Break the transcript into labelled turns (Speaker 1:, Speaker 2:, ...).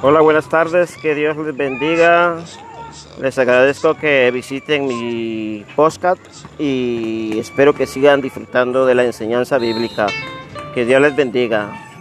Speaker 1: Hola, buenas tardes, que Dios les bendiga. Les agradezco que visiten mi podcast y espero que sigan disfrutando de la enseñanza bíblica. Que Dios les bendiga.